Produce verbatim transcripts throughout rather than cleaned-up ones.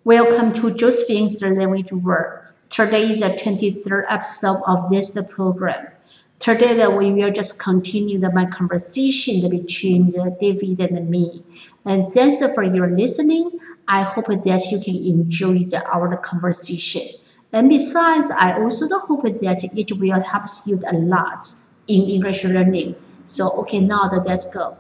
Welcome to Josephine's Language World. Today is the twenty-third episode of this program. Today we will just continue my conversation between David and me. And thanks for your listening. I hope that you can enjoy the, our conversation. And besides, I also hope that it will help you a lot in English learning. So, okay, now let's go.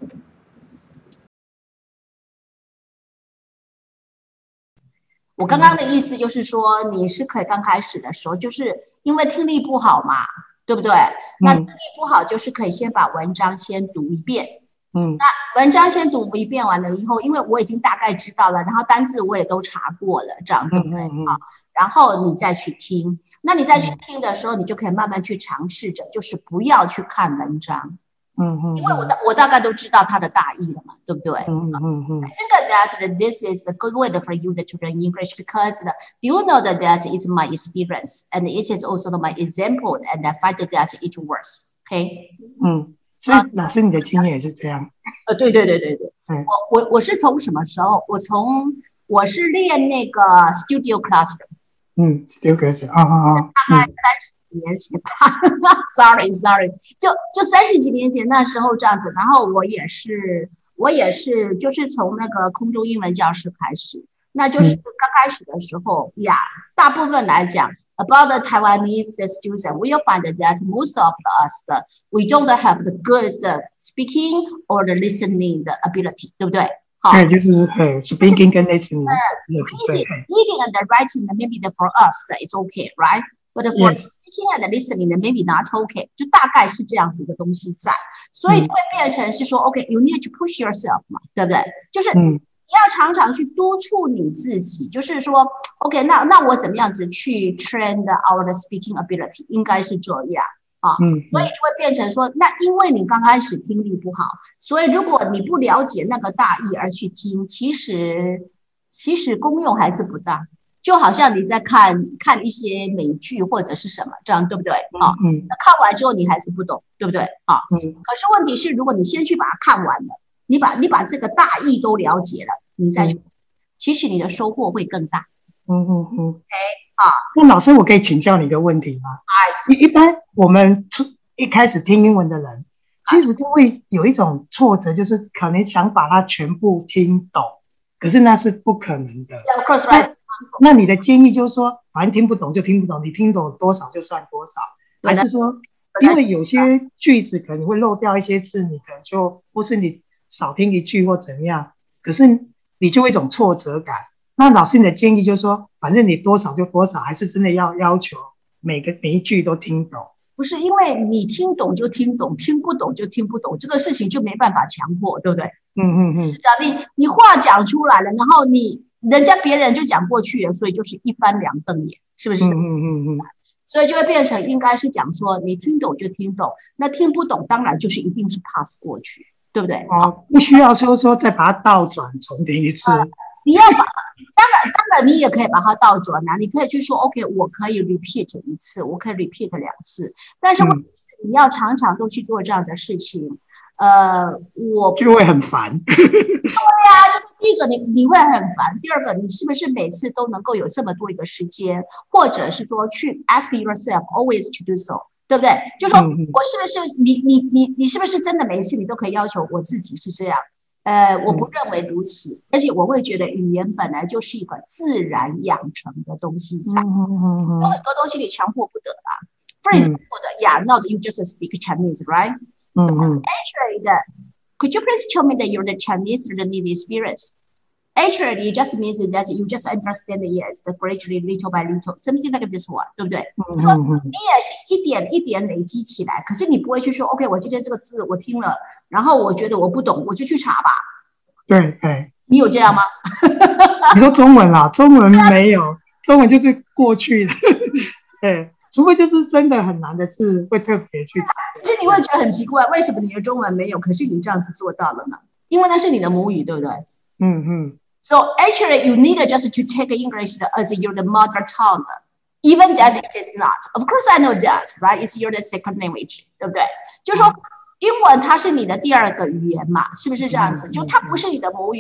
我刚刚的意思就是说，你是可以刚开始的时候，就是因为听力不好嘛，对不对？那听力不好，就是可以先把文章先读一遍。嗯，那文章先读一遍完了以后，因为我已经大概知道了，然后单字我也都查过了，这样对不对？啊，然后你再去听。那你再去听的时候，你就可以慢慢去尝试着，就是不要去看文章。嗯嗯，因为我大我大概都知道它的大意了嘛，对不对？嗯嗯嗯。I think that this is the good way for you to learn English because the, you know that that is my experience and it is also my example and I find that it works. OK？ 嗯，所以老师你的经验也是这样？ 呃，对对对对对。嗯，我我我是从什么时候？我从我是练那个 Studio Classroom。 嗯 ，Studio Classroom 啊啊啊， 大概三十几年前吧，sorry sorry， 就就三十几年前那时候这样子，然后我也是我也是就是从那个空中英文教室开始，那就是刚开始的时候呀，大部分来讲 about the Taiwanese the students, we'll find that most of us the, we don't have the good speaking or the listening the ability， 对不对？ 对，就是呃 ，speaking 跟 listening， reading, reading and writing maybe for us it's okay, right? But for yes. speaking and listening maybe not okay. 就大概是这样子一个东西在，所以就会变成是说、嗯、，OK, you need to push yourself 嘛，对不对？就是你要常常去督促你自己，就是说 ，OK, 那那我怎么样子去 train our speaking ability？ 应该是这样。啊，嗯，所以就会变成说，那因为你刚开始听力不好，所以如果你不了解那个大意而去听，其实其实功用还是不大，就好像你在看看一些美剧或者是什么，这样对不对？啊，嗯，那看完之后你还是不懂，对不对？啊，嗯，可是问题是，如果你先去把它看完了，你把你把这个大意都了解了，你再去，嗯、其实你的收获会更大。 嗯嗯嗯 ，OK。啊，那老师，我可以请教你一个问题吗？哎，一般我们一开始听英文的人，其实都会有一种挫折，就是可能想把它全部听懂，可是那是不可能的。 Yeah, of course, right. 那, 那你的建议就是说，反正听不懂就听不懂，你听懂多少就算多少，还是说，因为有些句子可能会漏掉一些字，你可能就或是你少听一句或怎样，可是你就会一种挫折感。那老师你的建议就是说，反正你多少就多少，还是真的要要求每个每一句都听懂？ 不是，因为你听懂就听懂，听不懂就听不懂，这个事情就没办法强迫，对不对？嗯嗯嗯，是这样。你你话讲出来了，然后你人家别人就讲过去了，所以就是一翻两瞪眼，是不是？嗯嗯嗯嗯。所以就会变成应该是讲说，你听懂就听懂，那听不懂当然就是一定是 pass 过去，对不对？ 哦，不需要说说再把它倒转重听一次。呃你要把，当然，当然，你也可以把它倒转啊。你可以去说 ，OK， 我可以 repeat 一次，我可以 repeat 两次。但是你要常常都去做这样的事情，呃，我就会很烦。 对呀、啊，就是第一个你你会很烦，第二个你是不是每次都能够有这么多一个时间，或者是说去 ask yourself always to do so， 对不对？就说我是不是你你你你是不是真的每一次你都可以要求我自己是这样？呃，我不认为如此，嗯、而且我会觉得语言本来就是一个自然养成的东西在，嗯嗯嗯、有很多东西你强迫不得啦。For example, 嗯、yeah, not you just speak Chinese, right? 嗯嗯。Actually, the, could you please tell me that you're the Chinese learning experience? Actually, it just means that you just understand it yes, gradually, little by little, something like this one, 对不对？嗯嗯说你也是一点一点累积起来，可是你不会去说 ，OK， 我今天这个字我听了。然后我觉得我不懂，我就去查吧。 对对， 你有这样吗？ 你说中文啦，中文没有，中文就是过去的。对，除非就是真的很难的字，会特别去查。 可是你会觉得很奇怪，为什么你的中文没有？可是你这样子做到了呢？因为那是你的母语，对不对？嗯嗯。So actually, you need just to take English as your mother tongue, even as it is not. Of course, I know that, right? It's your second language, 对不对？就是说。英文它是你的第二个语言嘛，是不是这样子？就它不是你的母语，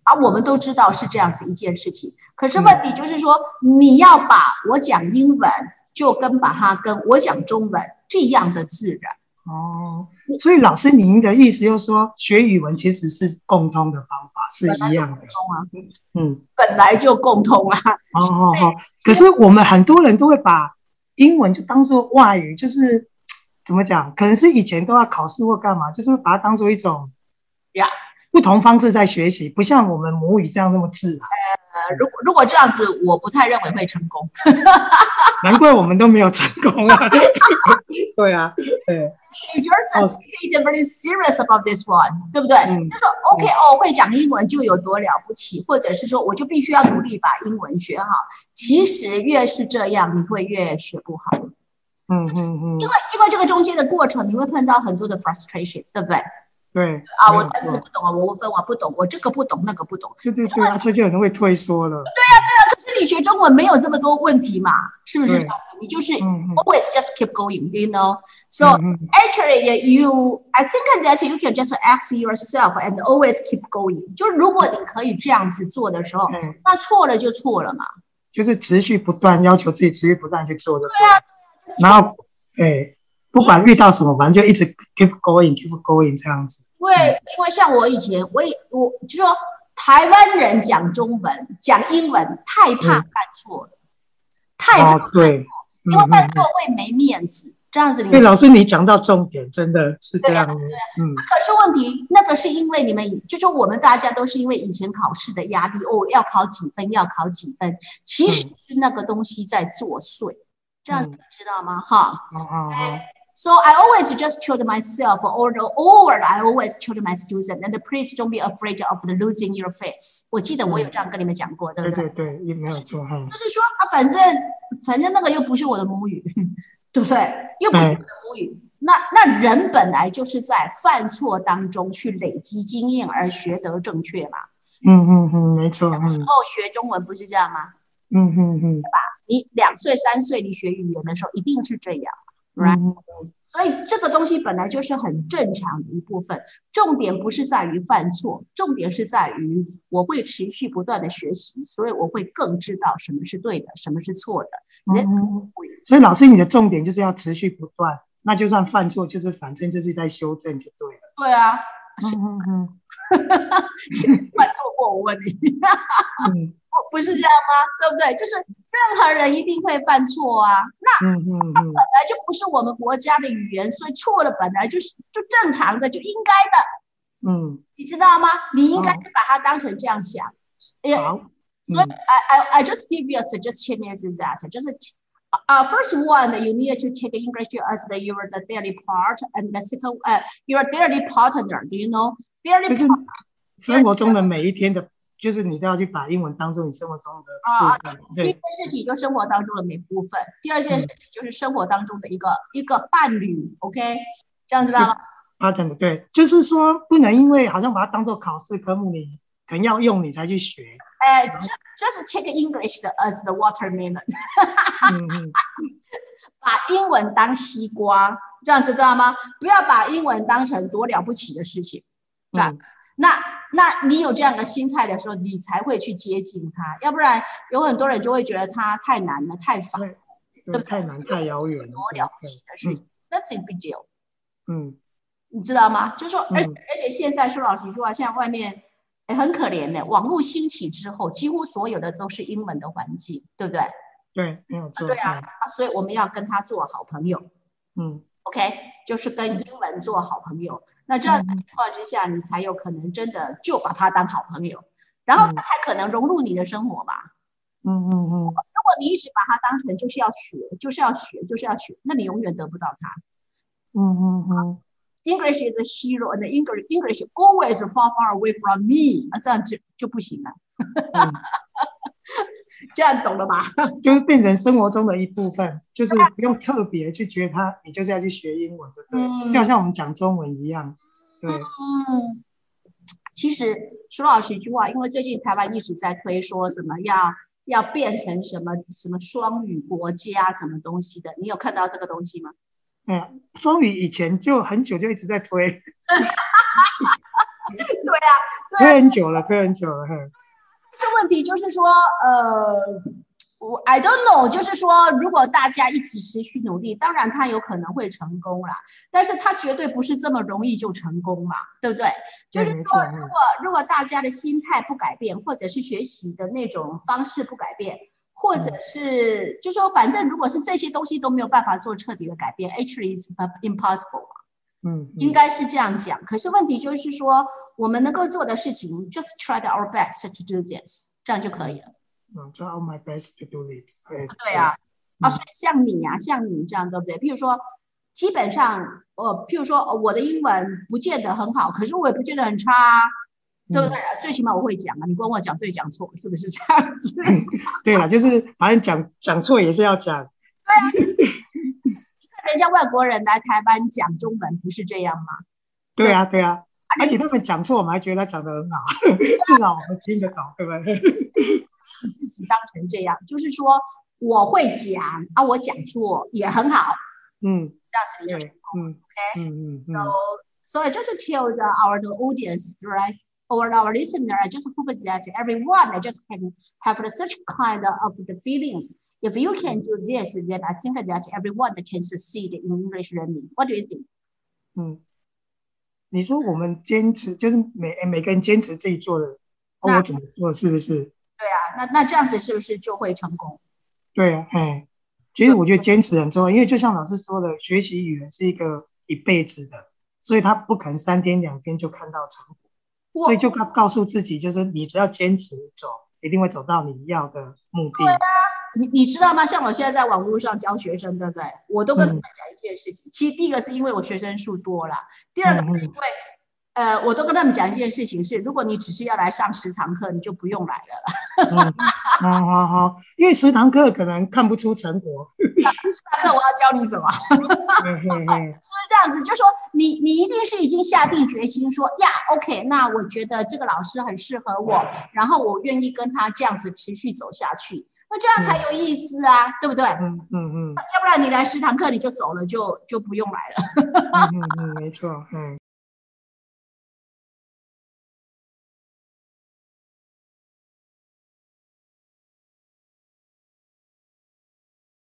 啊，我们都知道是这样子一件事情。可是问题就是说，嗯、你要把我讲英文就跟把它跟我讲中文这样的自然。 哦，所以老师您的意思就是说，学语文其实是共通的方法，是一样的。嗯， 本来就共通啊。 哦哦哦。可是我们很多人都会把英文就当作外语，就是怎么讲？可能是以前都要考试或干嘛，就是把它当作一种呀不同方式在学习，不像我们母语这样那么自然。 呃，如果如果这样子，我不太认为会成功。 难怪我们都没有成功啊！对啊，对。 你觉得自己 take it very serious about this one， 对不对？嗯、就说 OK 哦，会讲英文就有多了不起，或者是说我就必须要努力把英文学好。其实越是这样，你会越学不好。 嗯嗯嗯。 因为因为这个中间的过程，你会碰到很多的 frustration， 对不对？ 对啊，我单词不懂啊，我分我不懂，我这个不懂那个不懂。 对对对，而且就有人会退缩了。 对呀、啊、对呀、啊，可是你学中文没有这么多问题嘛，是不是这样子？你就是 always just keep going, you know. So actually, you I think that you can just ask yourself and always keep going. 就是如果你可以这样子做的时候，嗯、那错了就错了嘛。 就是持续不断要求自己，持续不断去做的。对啊。然后，哎。不管遇到什么，反正就一直 keep going, keep going 这样子。 因为因为像我以前，我也我就说台湾人讲中文、讲英文太怕犯错了，嗯、太怕犯错，哦、对，因为犯错会没面子。嗯、这样子你， 对老师，你讲到重点，真的是这样。对、啊，对啊、 嗯。可是问题，那个是因为你们，就说我们大家都是因为以前考试的压力，哦，要考几分，要考几分，其实是那个东西在作祟。嗯、这样子你知道吗？哈、嗯。哦哦哦。So I always just told myself, or over, I always told my students, and please don't be afraid of losing your face. 我记得我有这样跟你们讲过，对不对？ 对对对，也没有错哈。 就是说啊，反正反正那个又不是我的母语，对不对？又不是我的母语。那那人本来就是在犯错当中去累积经验而学得正确嘛。 嗯嗯嗯，没错。 有时候学中文不是这样吗？ 嗯嗯嗯， 对吧？你两岁三岁你学语言的时候一定是这样。Right? 嗯、所以这个东西本来就是很正常的一部分，重点不是在于犯错，重点是在于我会持续不断的学习，所以我会更知道什么是对的，什么是错的。 嗯、所以老师你的重点就是要持续不断，那就算犯错，就是反正就是在修正就对了。 对啊，嗯嗯嗯，犯错过我问你，嗯，不是这样吗？对不对？就是任何人一定会犯错啊。那嗯嗯嗯，它本来就不是我们国家的语言，所以错了本来就是就正常的，就应该的。嗯，你知道吗？你应该是把它当成这样想。好，所以 I I I just give you a suggestion is that 就是。Uh, first one, you need to take English as the, your the daily part, and the second, uh, your daily partner. Do you know? Daily 就是生活中的每一天的，就是你都要去把英文当做你生活中的部分。啊， 第一件事情就是生活当中的每部分，第二件事情就是生活当中的一个、嗯、一个伴侣。OK， 这样知道吗？ 啊，真的对，就是说不能因为好像把它当做考试科目，你可能要用你才去学。 哎、uh, ，just take English as the watermelon 嗯嗯。把英文当西瓜，这样子知道吗？不要把英文当成多了不起的事情。这样，嗯、那那你有这样的心态的时候，你才会去接近它。要不然，有很多人就会觉得它太难了，太烦，对不对？太难，太遥远了， 多了不起的事情 ，nothing big deal。 嗯， 你知道吗？就说，而且、嗯、而且现在说老实话，现在外面。欸、很可怜的，网络兴起之后，几乎所有的都是英文的环境，对不对？ 对，没有错。 对啊，啊，所以我们要跟他做好朋友。 嗯 ，OK， 就是跟英文做好朋友。那这样的情况之下，你才有可能真的就把他当好朋友，然后他才可能融入你的生活吧。 嗯嗯嗯。如果你一直把他当成就是要学，就是要学，就是要学，那你永远得不到他。 嗯嗯嗯。 English is a hero, and English English always far far away from me. 这样就就不行了。嗯、这样懂了吧？ 就是变成生活中的一部分，就是不用特别去觉得它，你就是要去学英文，对不对？嗯、就好像我们讲中文一样。对。 嗯。其实说老实一句话，因为最近台湾一直在推说什么要要变成什么什么双语国家什么东西的，你有看到这个东西吗？ 嗯，双语以前就很久就一直在推。 对啊，对推很久了，推很久了。 这问题就是说，呃，我 I don't know， 就是说，如果大家一直持续努力，当然他有可能会成功啦，但是他绝对不是这么容易就成功嘛，对不对？就是说，如果如果大家的心态不改变，或者是学习的那种方式不改变，或者是就说，反正如果是这些东西都没有办法做彻底的改变 ，actually is impossible 嘛。 嗯， 应该是这样讲。可是问题就是说，我们能够做的事情 ，just try our best to do this， 这样就可以了。 嗯 ，try all my best to do it。 对啊，啊，所以像你啊，像你这样，对不对？譬如说，基本上，呃，譬如说，我的英文不见得很好，可是我也不见得很差啊，对不对？嗯、最起码我会讲啊，你跟我讲对讲错，是不是这样子？ 对了，就是反正讲讲错也是要讲。 对啊。人家外国人来台湾讲中文不是这样吗？ 对啊，对啊，而且他们讲错，我们还觉得他讲得很好，至少我们听得懂，对不对？ 自己当成这样，就是说我会讲啊，我讲错也很好， 嗯， 这样子你就成功 ，OK？ 嗯嗯嗯 So, so I just tell the, our the audience, right, or our listener, I just hope that everyone I just can have such kind of the feelings.If you can do this, then I think that everyone can succeed in English learning. What do you think? 嗯，你说我们坚持，就是每每个人坚持自己做的，哦，我怎么做，是不是？ 对啊，那那这样子是不是就会成功？ 对啊，哎，其实我觉得坚持很重要，因为就像老师说的，学习语言是一个一辈子的，所以他不可能三天两天就看到成果，所以就告告诉自己，就是你只要坚持走，一定会走到你要的目的。 对啊。你你知道吗？像我现在在网络上教学生，对不对？我都跟他们讲一件事情。嗯、其实第一个是因为我学生数多了，第二个是因为、嗯、呃，我都跟他们讲一件事情是，如果你只是要来上十堂课，你就不用来了啦。 嗯，好好好，因为十堂课可能看不出成果。 十堂课我要教你什么？是不是这样子？就说你你一定是已经下定决心说呀 ，OK， 那我觉得这个老师很适合我，然后我愿意跟他这样子持续走下去。那这样才有意思啊，嗯、对不对？ 嗯嗯嗯。 要不然你来十堂课你就走了，就就不用来了。 嗯嗯嗯，没错，嗯。